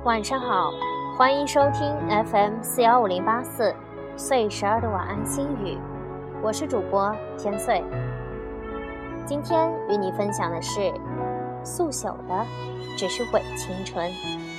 晚上好，欢迎收听 FM4150844岁12的晚安心语，我是主播天岁。今天与你分享的是速朽的只是伪青春。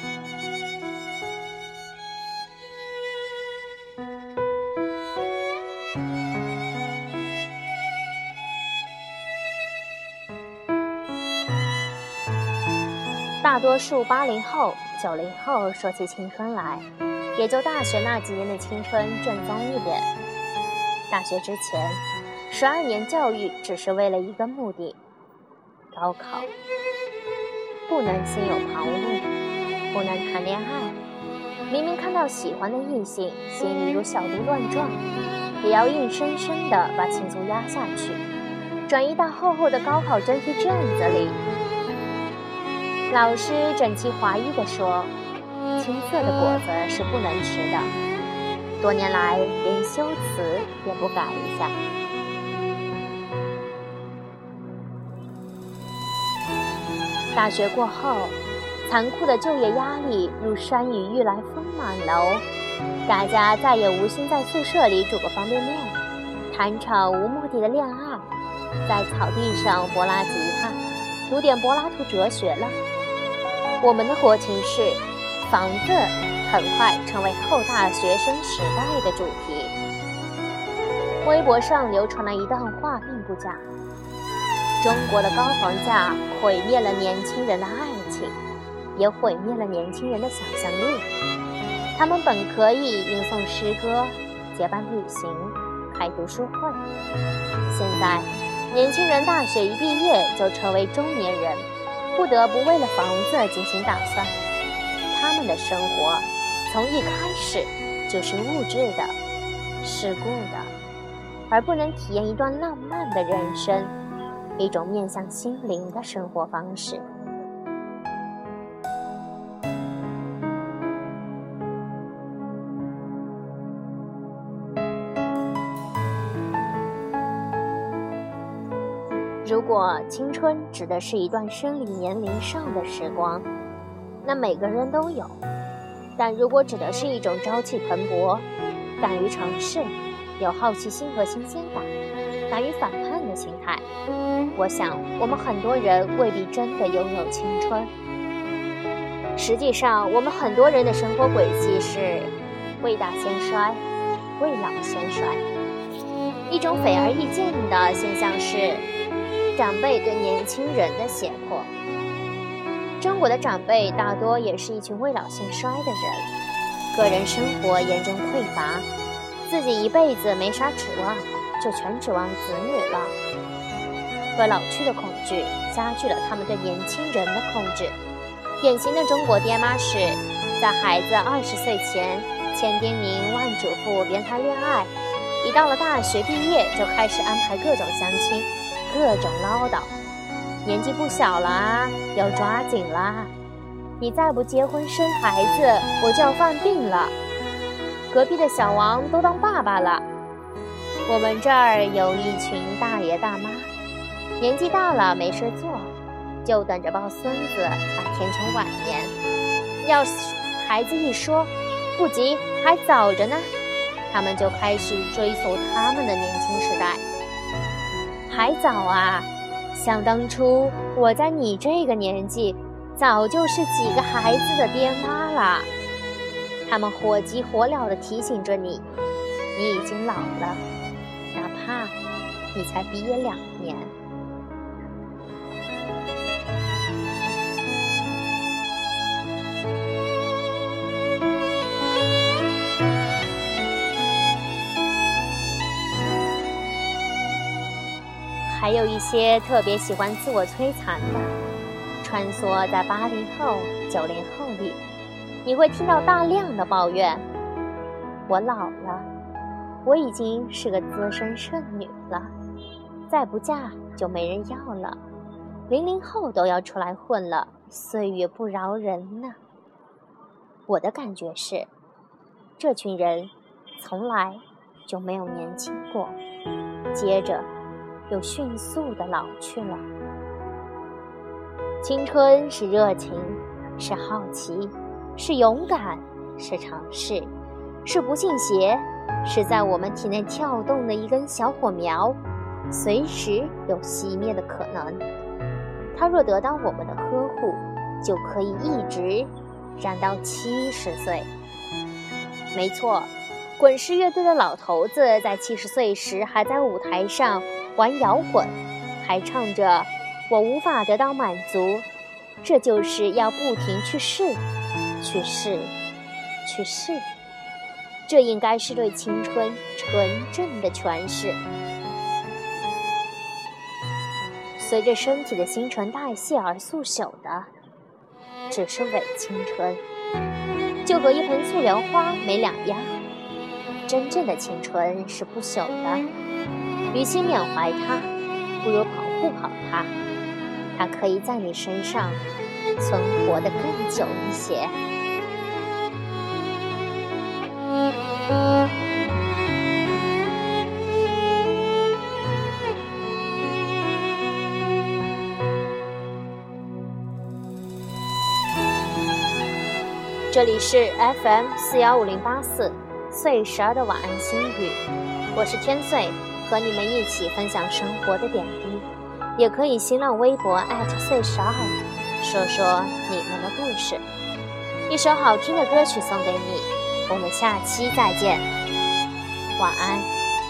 大多数80后、90后说起青春来，也就大学那几年的青春正宗一点。大学之前，12年教育只是为了一个目的：高考。不能心有旁骛，不能谈恋爱。明明看到喜欢的异性，心里如小鹿乱撞，也要硬生生地把情愫压下去，转移到厚厚的高考真题卷子里。老师整齐划一地说，青涩的果子是不能吃的。多年来连修辞也不改一下。大学过后，残酷的就业压力如山雨欲来风满楼，大家再也无心在宿舍里煮个方便面，谈场无目的的恋爱，在草地上拨拉吉他，读点柏拉图哲学了。我们的国情是房子很快成为后大学生时代的主题。微博上流传了一段话并不假，中国的高房价毁灭了年轻人的爱情，也毁灭了年轻人的想象力。他们本可以吟诵诗歌，结伴旅行，开读书会，现在年轻人大学一毕业就成为中年人，不得不为了房子进行打算。他们的生活从一开始就是物质的、世故的，而不能体验一段浪漫的人生，一种面向心灵的生活方式。如果青春指的是一段生理年龄上的时光，那每个人都有；但如果指的是一种朝气蓬勃、敢于尝试、有好奇心和新鲜感、敢于反叛的心态，我想我们很多人未必真的拥有青春。实际上，我们很多人的生活轨迹是未大先衰，未老先衰。一种显而易见的现象是长辈对年轻人的胁迫。中国的长辈大多也是一群未老先衰的人，个人生活严重匮乏，自己一辈子没啥指望，就全指望子女了。和老去的恐惧加剧了他们对年轻人的控制。典型的中国爹妈是在孩子20岁前千叮咛万嘱咐别谈恋爱，一到了大学毕业就开始安排各种相亲，各种唠叨，年纪不小了啊，要抓紧啦，你再不结婚生孩子我就要犯病了，隔壁的小王都当爸爸了。我们这儿有一群大爷大妈，年纪大了没事做，就等着抱孙子还天成晚年。要是孩子一说不急还早着呢，他们就开始追溯他们的年轻时代。还早啊，想当初我在你这个年纪早就是几个孩子的爹妈了。他们火急火燎地提醒着你，你已经老了，哪怕你才毕业2年。还有一些特别喜欢自我摧残的，穿梭在80后、90后里，你会听到大量的抱怨：我老了，我已经是个资深剩女了，再不嫁就没人要了，00后都要出来混了，岁月不饶人呢。我的感觉是，这群人从来就没有年轻过，接着又迅速地老去了。青春是热情，是好奇， 是勇敢，是尝试，是不信邪，是在我们体内跳动的一根小火苗，随时有熄灭的可能。它若得到我们的呵护，就可以一直燃到70岁。没错，滚石乐队的老头子在70岁时还在舞台上玩摇滚，还唱着我无法得到满足，这就是要不停去试，去试，去试。这应该是对青春纯正的诠释。随着身体的新陈代谢而速朽的，只是伪青春，就和一盆素莲花没两样。真正的青春是不朽的，与其缅怀它，不如保护好它。它可以在你身上存活得更久一些。这里是 FM41584岁12的晚安心语，我是天岁，和你们一起分享生活的点滴。也可以新浪微博岁12说说你们的故事。一首好听的歌曲送给你，我们下期再见，晚安。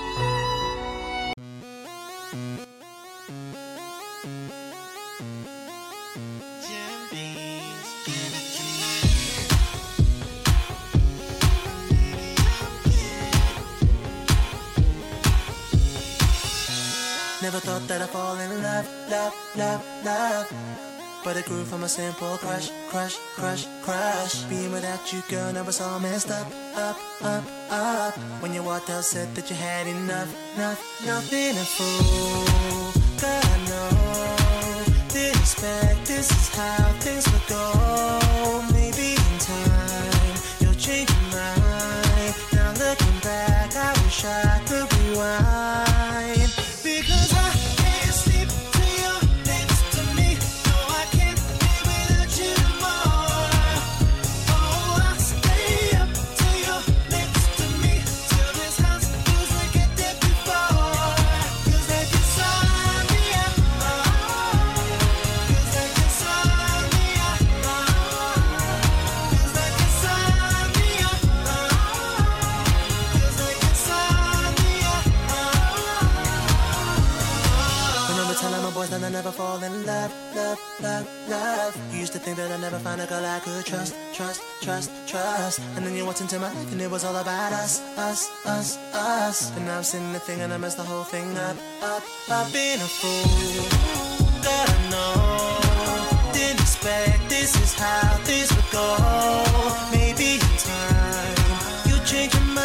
Never thought that I'd fall in love, love, love, love. But it grew from a simple crush, crush, crush, crush. Being without you, girl, now it's all messed up, up, up, up. When you walked out, said that you had enough, nothing to fool. God, I know, didn't expect this is how things would go. Maybe in time, you'll change your mind. Now looking back, I wish I could rewind. Because I can't sleep till you're next to me. No, I can't live without you tomorrow. Oh, I'll stay up till you're next to me, till this house feels like it did before. Feels like insomnia. Feels like insomnia. Feels like insomnia. Feels like insomnia. Telling my boys that I never fall in love, love, love, love. You used to think that I'd never find a girl I could trust, trust, trust, trust. And then you walked into my life and it was all about us, us, us, us. And now I'm sitting there thinking I messed the whole thing up, up. I've been a fool, God I know. Didn't expect this is how things would go. Maybe in time you'll change your mind.